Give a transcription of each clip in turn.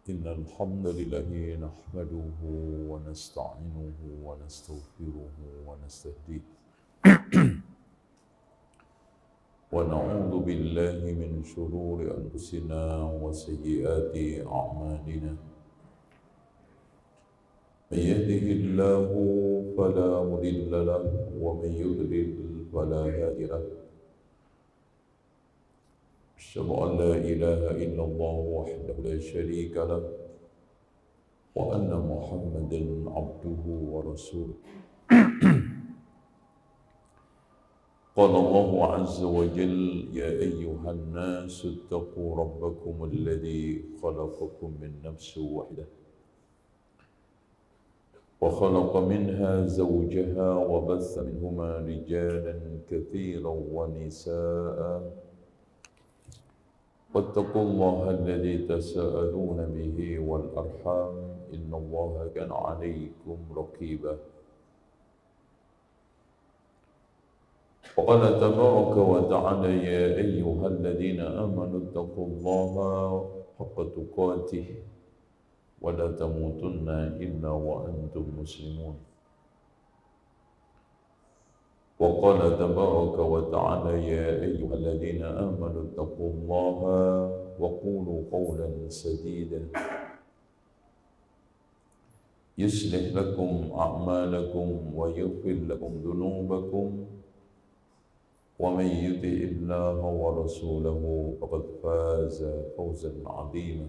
إن الحمد لله نحمده ونستعينه ونستغفره ونستهديه ونعوذ بالله من شرور أنفسنا وسيئات أعمالنا من يهده الله فلا مضل له ومن يضلل فلا هادي له أشهد أن لا إله إلا الله وحده لا شريك له وأن محمدا عبده ورسوله قال الله عز وجل يا أيها الناس اتقوا ربكم الذي خلقكم من نفس واحدة وخلق منها زوجها وبث منهما رجالا كثيرا ونساء واتقوا الله الذي تساءلون به والأرحام إن الله كان عليكم رقيبا وقال تبارك وتعالى يا أيها الذين آمنوا اتقوا الله حق تقاته ولا تموتن إلا وأنتم مسلمون وقال تبارك وتعالى يا أيها الذين آمنوا اتقوا الله وقولوا قولا سديدا يصلح لكم أعمالكم ويغفر لكم ذنوبكم ومن يطع الله ورسوله فقد فاز فوزا عظيما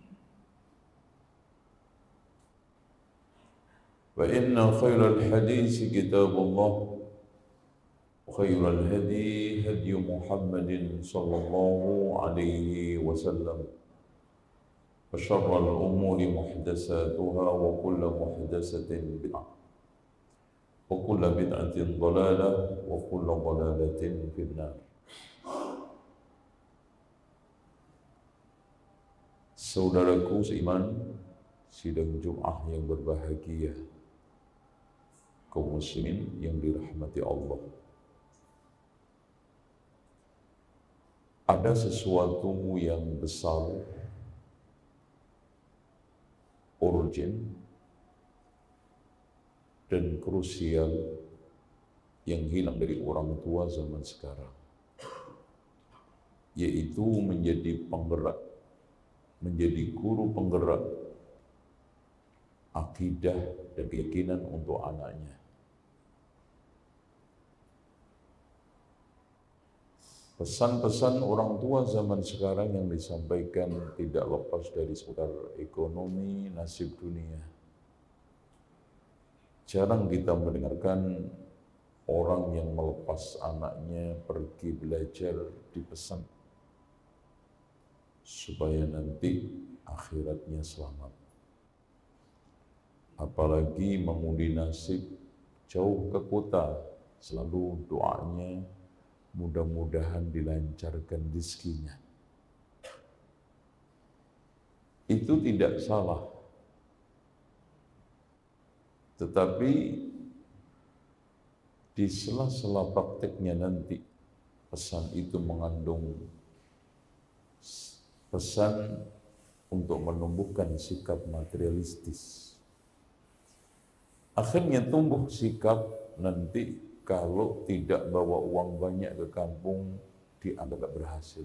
فإن خير الحديث كتاب الله وخير الهدي هدي محمد صلى الله عليه وسلم وشر الأمور محدثاتها وكل محدثة بدعة وكل بدعة ضلالة وكل ضلالة في النار. Saudaraku seiman, sidang Jum'ah yang berbahagia, kaum muslimin yang dirahmati Allah. Ada sesuatu yang besar, urgent, dan krusial yang hilang dari orang tua zaman sekarang, yaitu menjadi penggerak, menjadi guru penggerak akidah dan keyakinan untuk anaknya. Pesan-pesan orang tua zaman sekarang yang disampaikan tidak lepas dari seputar ekonomi, nasib dunia. Jarang kita mendengarkan orang yang melepas anaknya pergi belajar dipesan supaya nanti akhiratnya selamat. Apalagi mengundi nasib jauh ke kota, selalu doanya mudah-mudahan dilancarkan rezekinya. Itu tidak salah. Tetapi di sela-sela prakteknya nanti, pesan itu mengandung pesan untuk menumbuhkan sikap materialistis. Akhirnya tumbuh sikap nanti kalau tidak bawa uang banyak ke kampung, dianggap berhasil.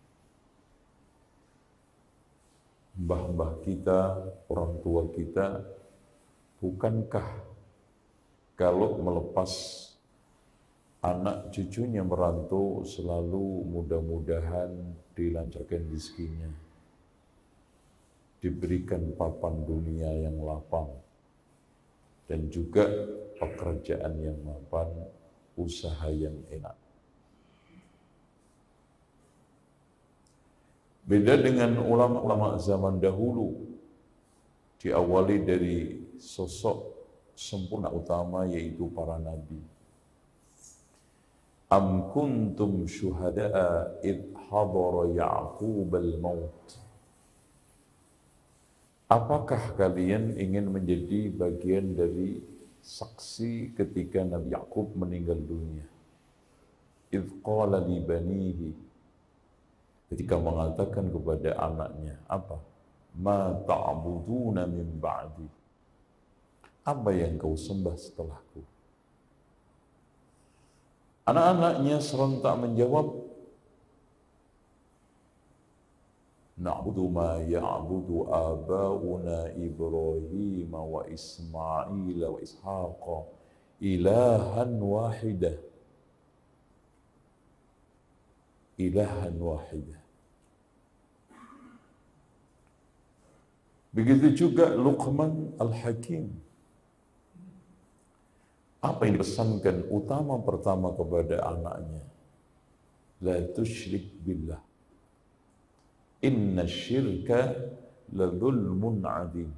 Mbah-mbah kita, orang tua kita, bukankah kalau melepas anak cucunya merantau selalu mudah-mudahan dilancarkan rezekinya, diberikan papan dunia yang lapang, dan juga pekerjaan yang mapan, usaha yang enak. Beda dengan ulama-ulama zaman dahulu, diawali dari sosok sempurna utama yaitu para nabi. Am kuntum syuhada'a id hadara Ya'qub al-maut. Apakah kalian ingin menjadi bagian dari saksi ketika Nabi Ya'qub meninggal dunia? Idh qala li banihi, ketika mengatakan kepada anaknya, apa? ma ta'buduna min ba'di. Apa yang kau sembah setelahku? Anak-anaknya serentak menjawab, na'budu ma ya'budu aba'una Ibrahim wa Ismail wa Ishaq ilahan wahidah. Ilahan wahidah. Begitu juga Luqman Al-Hakim. Apa yang dipesankan utama pertama kepada anaknya? La tusyrik billah. Inna syirka la dhulmun adim.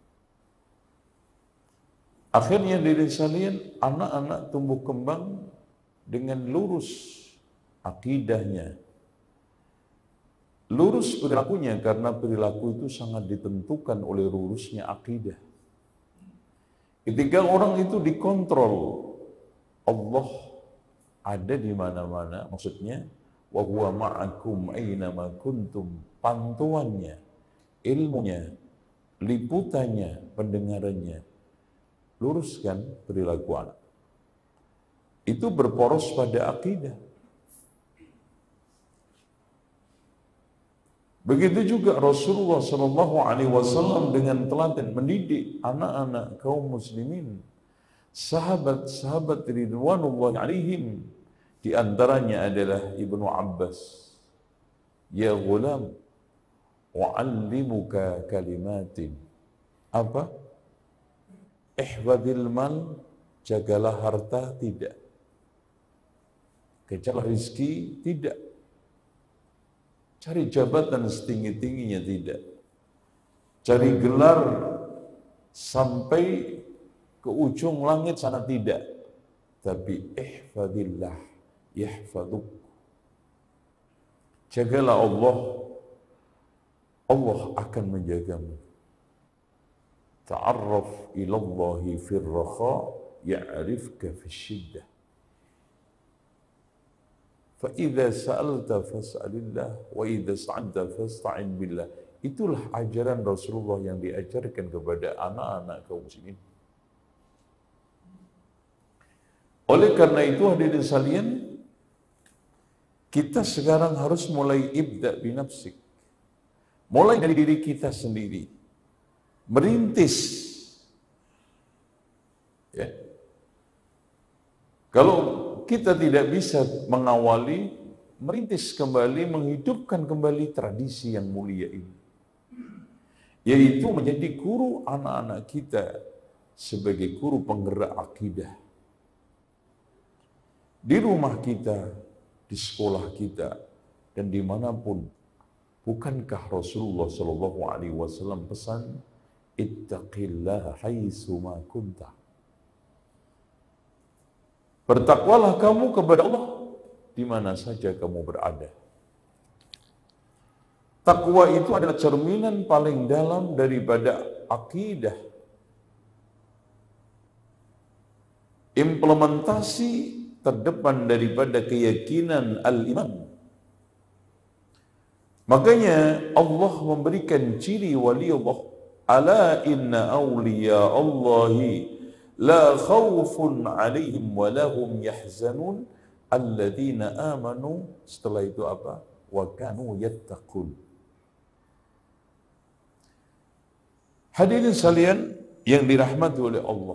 Akhirnya dari sekalian, anak-anak tumbuh kembang dengan lurus akidahnya, lurus perilakunya, karena perilaku itu sangat ditentukan oleh lurusnya akidah. Ketika orang itu dikontrol, Allah ada di mana-mana, maksudnya wa huwa ma'akum aina ma kuntum, pantuannya, ilmunya, liputannya, pendengarannya, luruskan perilaku anak. Itu berporos pada akidah. Begitu juga Rasulullah SAW dengan telaten mendidik anak-anak kaum muslimin, sahabat-sahabat ridwanullah alaihim. Di antaranya adalah Ibnu Abbas. Ya ghulam, wa'allimuka kalimatin. Apa? Ihfadil mal, jagalah harta, tidak. Kejarlah rizki, tidak. Cari jabatan setinggi-tingginya, tidak. Cari gelar sampai ke ujung langit sana, tidak. Tapi ihfadillah yahfaduk. Jagalah Allah, Allah akan menjagamu. Ta'arraf ilallahi fir rakha ya'rifka fis syiddah. فَإِذَا سَأَلْتَ فَاسْأَلِ اللَّهِ وَإِذَا اسْتَعَنْتَ فَاسْتَعِنْ بِاللَّهِ. Itulah ajaran Rasulullah yang diajarkan kepada anak-anak kaum muslimin. Oleh karena itu, hadirin sekalian, kita sekarang harus mulai ibda' binafsik. Mulai dari diri kita sendiri. Merintis. Ya. Kalau kita tidak bisa mengawali, merintis kembali, menghidupkan kembali tradisi yang mulia ini. Yaitu menjadi guru anak-anak kita sebagai guru penggerak akidah. Di rumah kita, di sekolah kita, dan dimanapun. Bukankah Rasulullah SAW pesan, ittaqillah haitsu ma kunta. Bertakwalah kamu kepada Allah di mana saja kamu berada. Takwa itu adalah cerminan paling dalam daripada akidah. Implementasi terdepan daripada keyakinan al-iman. Makanya Allah memberikan ciri wali Allah. Ala inna awliya Allahi la khawfun alaihim wa lahum yahzanun alladzina amanu. Setelah itu apa? Wa kanu yattaqun. Hadirin sekalian yang dirahmati oleh Allah,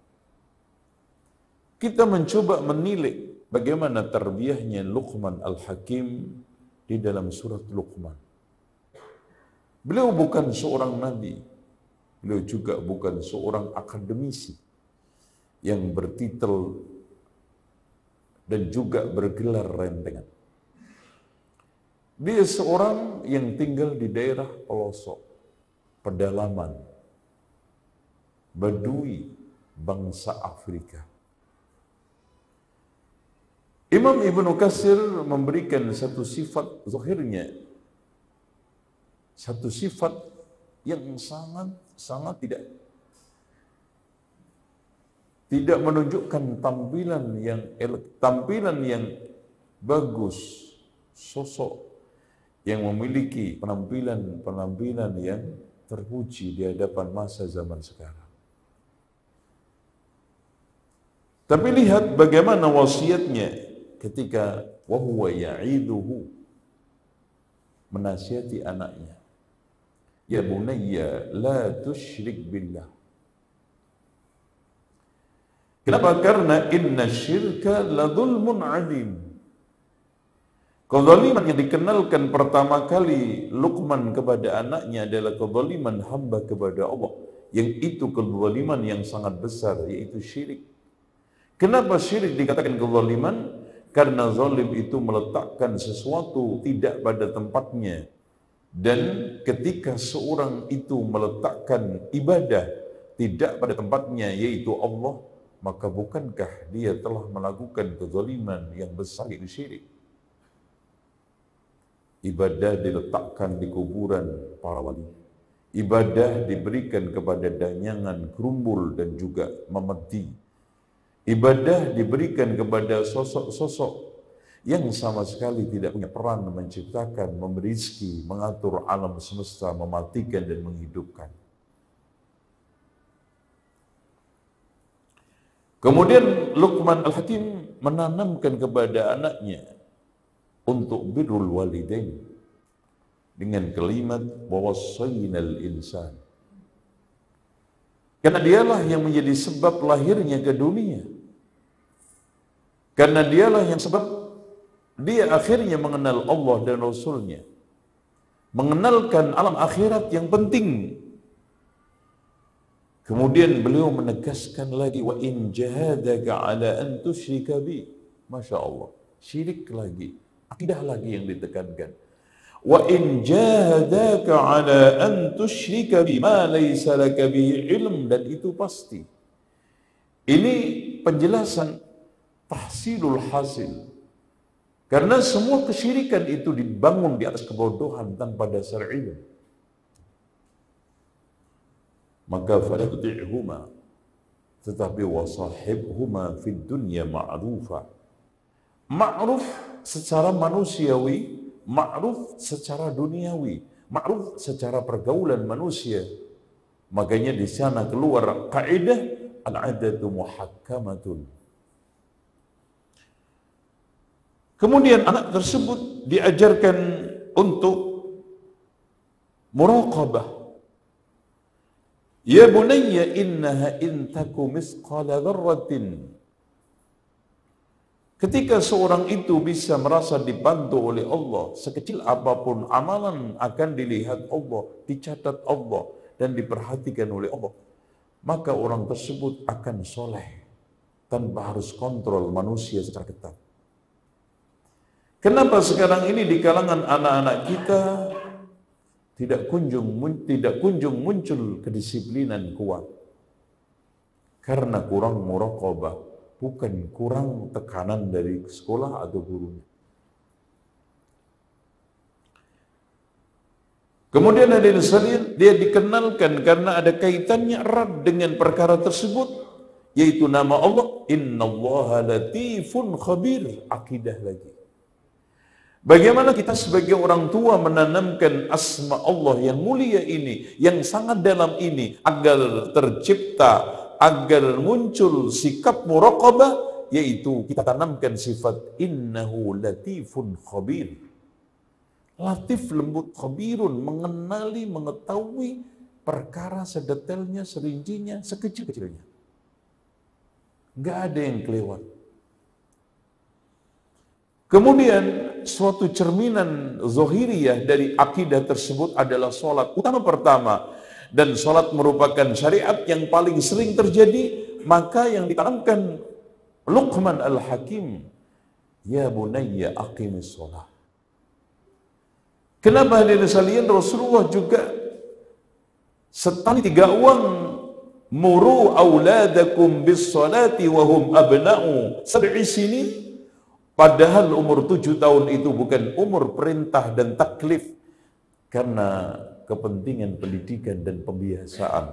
kita mencoba menilik bagaimana tarbiyahnya Luqman Al-Hakim di dalam surat Luqman. Beliau bukan seorang nabi, beliau juga bukan seorang akademisi yang bertitel dan juga bergelar rentengan. Dia seorang yang tinggal di daerah pelosok, pedalaman, Badui, bangsa Afrika. Imam Ibnu Katsir memberikan satu sifat zahirnya, satu sifat yang sangat tidak menunjukkan tampilan yang bagus, sosok yang memiliki penampilan yang terpuji di hadapan masa zaman sekarang. Tapi lihat bagaimana wasiatnya ketika wa huwa ya'iduhu, menasihati anaknya. Ya bunayya la tusyrik billah. Kenapa? Karena inna syirka la dhulmun adim. Kezaliman yang dikenalkan pertama kali Luqman kepada anaknya adalah kezaliman hamba kepada Allah, yang itu kezaliman yang sangat besar, yaitu syirik. Kenapa syirik dikatakan kezaliman? Karena zalim itu meletakkan sesuatu tidak pada tempatnya. Dan ketika seorang itu meletakkan ibadah tidak pada tempatnya, yaitu Allah, maka bukankah dia telah melakukan kezaliman yang besar, yaitu syirik? Ibadah diletakkan di kuburan para wali. Ibadah diberikan kepada danyangan, gerumbul dan juga memedi. Ibadah diberikan kepada sosok-sosok yang sama sekali tidak punya peran menciptakan, memberi rezeki, mengatur alam semesta, mematikan dan menghidupkan. Kemudian Luqman Al-Hakim menanamkan kepada anaknya untuk birrul walidain dengan kalimat wawassaynal insan. Karena dialah yang menjadi sebab lahirnya ke dunia. Karena dialah yang sebab dia akhirnya mengenal Allah dan Rasulnya, mengenalkan alam akhirat yang penting. Kemudian beliau menegaskan lagi, wa in jahadaka ala an tusyrika bi. Masya Allah, syirik lagi, akidah lagi yang ditekankan. Wa in jahadaka ala an tusyrika bi ma laysa laka bihi ilm, dan itu pasti. Ini penjelasan tahsilul hasil. Karena semua kesyirikan itu dibangun di atas kebodohan tanpa dasar ilmu. Maka fala tuti'huma, tetapi wasahibhuma fid dunya ma'rufa. Ma'ruf secara manusiawi, ma'ruf secara duniawi, ma'ruf secara pergaulan manusia. Makanya di sana keluar kaidah al-'adatu muhakkamatun. Kemudian anak tersebut diajarkan untuk muraqabah. Ya bunayya innaha in taku misqala dzarratin. Ketika seorang itu bisa merasa dibantu oleh Allah, sekecil apapun amalan akan dilihat Allah, dicatat Allah dan diperhatikan oleh Allah, maka orang tersebut akan soleh tanpa harus kontrol manusia secara ketat. Kenapa sekarang ini di kalangan anak-anak kita tidak kunjung muncul kedisiplinan kuat? Karena kurang muraqabah, bukan kurang tekanan dari sekolah atau gurunya. Kemudian hadirin sekalian, dia dikenalkan karena ada kaitannya erat dengan perkara tersebut, yaitu nama Allah, innallaha latifun khabir, akidah lagi. Bagaimana kita sebagai orang tua menanamkan asma Allah yang mulia ini, yang sangat dalam ini, agar tercipta, agar muncul sikap muraqabah, yaitu kita tanamkan sifat innahu latifun khabir. Latif, lembut, khabirun, mengenali, mengetahui perkara sedetailnya, serincinya, sekecil-kecilnya. Nggak ada yang kelewat. Kemudian suatu cerminan zahiriyah dari akidah tersebut adalah sholat. Utama pertama, dan sholat merupakan syariat yang paling sering terjadi, maka yang ditanamkan Luqman Al-Hakim, ya bunayya aqimis sholat. Kenapa hadirin sekalian Rasulullah juga setali 3 uang, muru auladakum bis sholati wa hum abna'u 7 sinin. Padahal umur 7 tahun itu bukan umur perintah dan taklif, karena kepentingan pendidikan dan pembiasaan.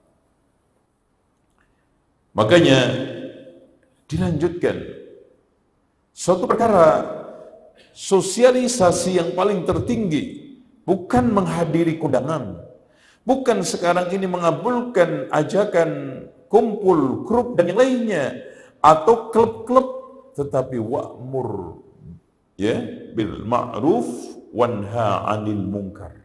Makanya dilanjutkan suatu perkara sosialisasi yang paling tertinggi bukan menghadiri kondangan, Bukan sekarang ini mengabulkan ajakan kumpul, grup dan yang lainnya atau klub-klub, tetapi wa'mur ya bil ma'ruf wanha 'anil munkar.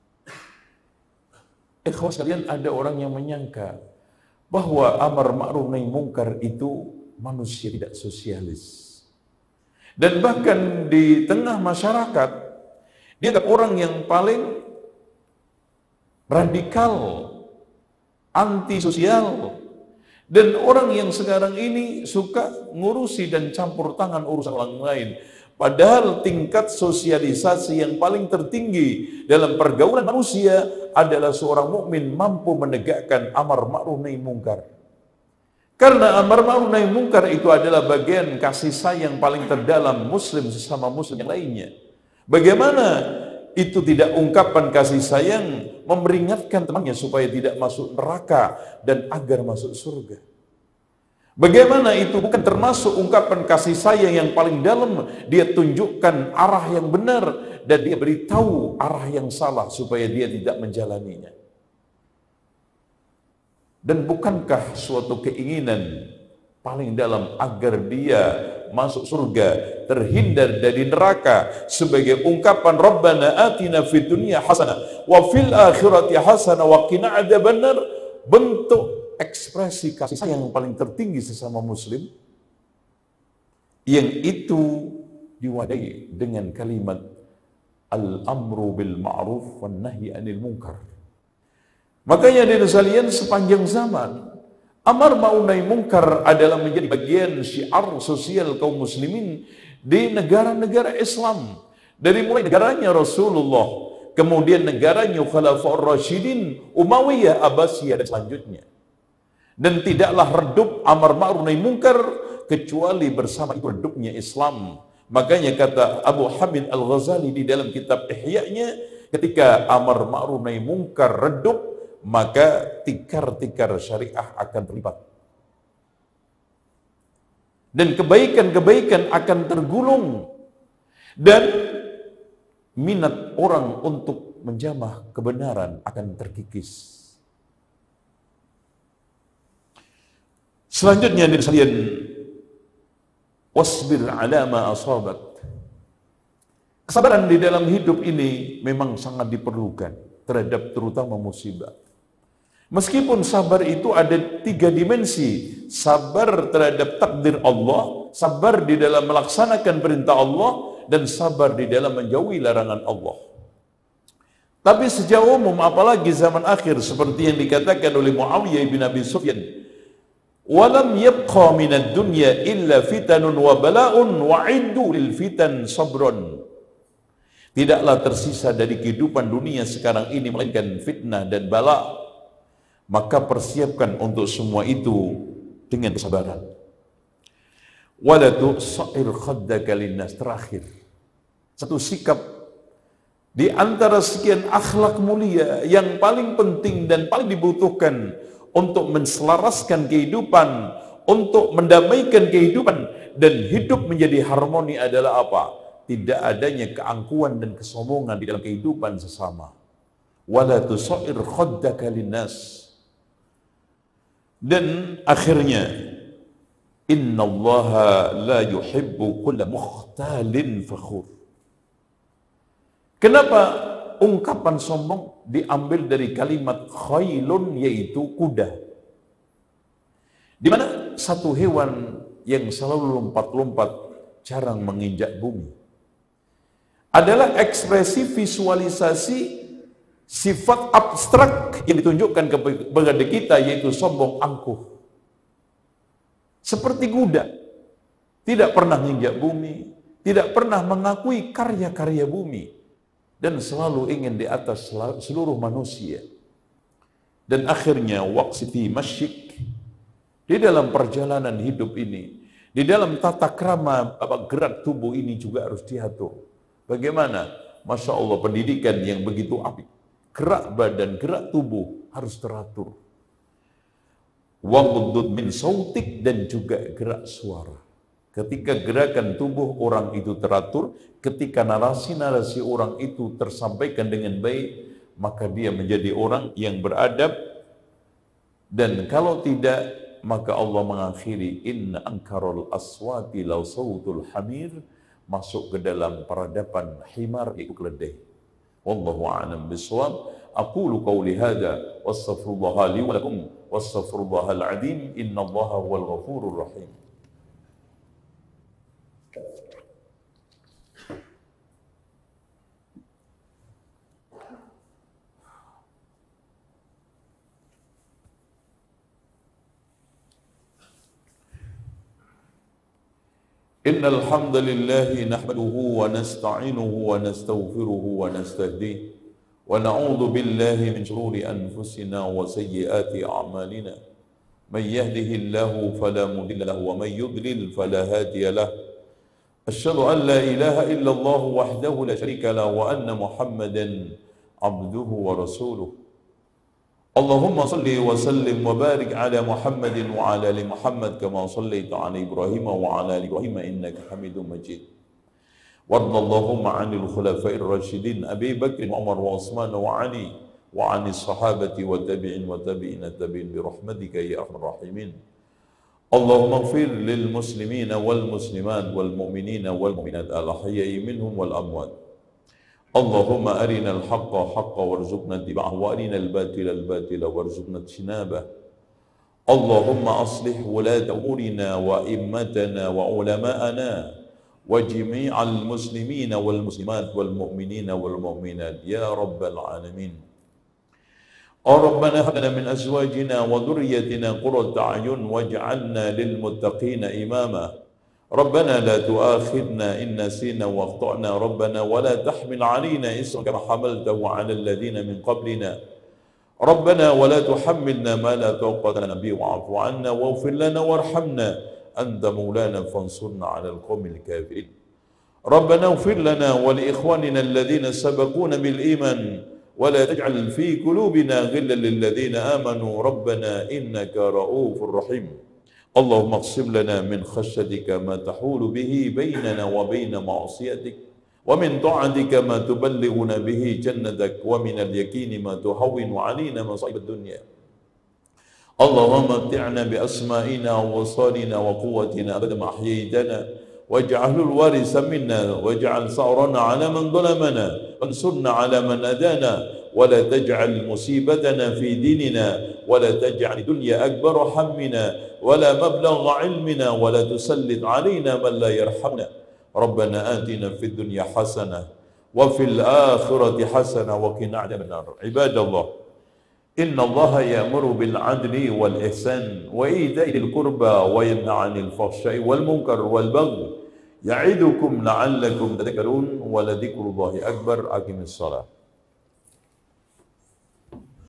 Ikhwas sekalian, ada orang yang menyangka bahwa amar ma'ruf nahi munkar itu manusia tidak sosialis. Dan bahkan di tengah masyarakat, dia adalah orang yang paling radikal, antisosial, dan orang yang sekarang ini suka ngurusi dan campur tangan urusan orang lain. Padahal tingkat sosialisasi yang paling tertinggi dalam pergaulan manusia adalah seorang mukmin mampu menegakkan amar ma'ruf nahi munkar. Karena amar ma'ruf nahi munkar itu adalah bagian kasih sayang paling terdalam muslim sesama muslim yang lainnya. Bagaimana itu tidak ungkapan kasih sayang memperingatkan temannya supaya tidak masuk neraka dan agar masuk surga? Bagaimana itu bukan termasuk ungkapan kasih sayang yang paling dalam? Dia tunjukkan arah yang benar dan dia beritahu arah yang salah supaya dia tidak menjalaninya. Dan bukankah suatu keinginan paling dalam agar dia masuk surga, terhindar dari neraka, sebagai ungkapan Rabbana atina fid dunya hasanah wa fil akhirati hasanah wa qina adzabannar, bentuk ekspresi kasih sayang yang paling tertinggi sesama muslim, yang itu diwadahi dengan kalimat al-amru bil ma'ruf wan nahyi 'anil munkar. Makanya dari sekalian, sepanjang zaman amar ma'ruf nahi munkar adalah menjadi bagian syiar sosial kaum muslimin di negara-negara Islam. Dari mulai negaranya Rasulullah, kemudian negaranya Khulafaur Rasyidin, Umayyah, Abbasiyah dan selanjutnya. Dan tidaklah redup amar ma'ruf nahi munkar kecuali bersama itu redupnya Islam. Makanya kata Abu Hamid Al-Ghazali di dalam kitab Ihya-nya, ketika amar ma'ruf nahi munkar redup, maka tikar-tikar syariah akan terlibat. Dan kebaikan-kebaikan akan tergulung. Dan minat orang untuk menjamah kebenaran akan terkikis. Selanjutnya dari sekalian, wasbir ala ma asabak. Kesabaran di dalam hidup ini memang sangat diperlukan terhadap terutama musibah. Meskipun sabar itu ada 3 dimensi, sabar terhadap takdir Allah, sabar di dalam melaksanakan perintah Allah, dan sabar di dalam menjauhi larangan Allah. Tapi secara umum, apalagi zaman akhir, seperti yang dikatakan oleh Muawiyah bin Abi Sufyan, walam yabqa minad dunya illa fitanun wa bala'un wa'iddu lil fitan sabron. Tidaklah tersisa dari kehidupan dunia sekarang ini melainkan fitnah dan bala. Maka persiapkan untuk semua itu dengan kesabaran. Wala tu'sa'ir khaddaka linnas. Terakhir, satu sikap di antara sekian akhlak mulia yang paling penting dan paling dibutuhkan untuk menselaraskan kehidupan, untuk mendamaikan kehidupan dan hidup menjadi harmoni adalah apa? Tidak adanya keangkuhan dan kesombongan di dalam kehidupan sesama. Wala tu'sa'ir khaddaka linnas. Dan akhirnya, innallaha la yuhibbu kulla mukhtalin fakhur. Kenapa ungkapan sombong diambil dari kalimat khailun, yaitu kuda, di mana satu hewan yang selalu lompat-lompat, jarang menginjak bumi, adalah ekspresi visualisasi sifat abstrak yang ditunjukkan kepada kita, yaitu sombong, angkuh. Seperti kuda, tidak pernah menginjak bumi, tidak pernah mengakui karya-karya bumi, dan selalu ingin di atas seluruh manusia. Dan akhirnya waqsiti masyik, di dalam perjalanan hidup ini, di dalam tata krama gerak tubuh ini juga harus diatur. Bagaimana? Masya Allah, pendidikan yang begitu apik. Gerak badan, gerak tubuh harus teratur. Waghdud min sautik, dan juga gerak suara. Ketika gerakan tubuh orang itu teratur, ketika narasi-narasi orang itu tersampaikan dengan baik, maka dia menjadi orang yang beradab, dan kalau tidak maka Allah mengakhiri inna ankarul aswati law sautul hamir, masuk ke dalam peradaban himar itu keledai. Wallahu a'lam bishawab. Aqulu qawli hadza wastaghfirullaha li wa lakum wastaghfirullahal azim innallaha huwal ghafurur rahim. Innal hamdalillah nahmaduhu wa nasta'inuhu wa nastaghfiruhu wa nastahdihi wa na'udzu billahi min shururi anfusina wa sayyiati a'malina. Man yahdihillahu fala mudilla lahu wa man yudlil fala hadiya lahu. Asyhadu an la ilaha illallah wahdahu la syarika lahu wa anna Muhammadan abduhu wa rasuluh. Allahumma salli wa sallim wa barik ala Muhammadin wa ala ali Muhammad kama sallaita ala Ibrahim wa ala ali Ibrahim innaka Hamidum Majid. Warda Allahumma 'anil khulafa'ir rasyidin Abi Bakr wa Umar wa Utsman wa Ali wa 'anis sahabati wa tabi'in wa tabi'in tabi'in bi rahmatika ya arhamar rahimin. Allahumma ighfir lil muslimina wal muslimat wal mu'minina wal mu'minat al ahya'i minhum wal amwat. Allahumma arina al-haqqa haqqa warzuqna ittiba'ahu wa arina al-batila al-batila warzuqna ijtinabah. Allahumma aslih wulata umurina wa immatana wa ulama'ana wa jami'al muslimina wal muslimat wal mu'minina wal mu'minat ya rabbal alamin. Rabbana hab lana min azwajina wa dhurriyyatina qurrata a'yun waj'alna lil muttaqina imama. ربنا لا تؤاخذنا إن نسينا واخطأنا ربنا ولا تحمل علينا إصرا كما حملته على الذين من قبلنا ربنا ولا تحملنا ما لا طاقة لنا به واعف عنا واغفر لنا وارحمنا أنت مولانا فانصرنا على القوم الكافرين ربنا اغفر لنا ولإخواننا الذين سبقونا بالإيمان ولا تجعل في قلوبنا غلا للذين آمنوا ربنا إنك رؤوف رحيم اللهم اقسم لنا من خشيتك ما تحول به بيننا وبين معصيتك ومن طاعتك ما تبلغنا به جنتك ومن اليقين ما تهون علينا مصائب الدنيا اللهم متعنا بأسمائنا وأبصارنا وقوتنا أبدا ما أحييتنا واجعله الوارث منا واجعل ثأرنا على من ظلمنا وانصرنا على من أدانا ولا تجعل مصيبتنا في ديننا ولا تجعل الدنيا أكبر همنا ولا مبلغ علمنا ولا تسلط علينا من لا يرحمنا ربنا آتنا في الدنيا حسنة وفي الآخرة حسنة وقنا عذاب النار عباد الله إن الله يأمر بالعدل والإحسان وإيتاء ذي القربى وينهى عن الفحشاء والمنكر والبغي يعظكم لعلكم تذكرون ولذكر الله أكبر أقم الصلاة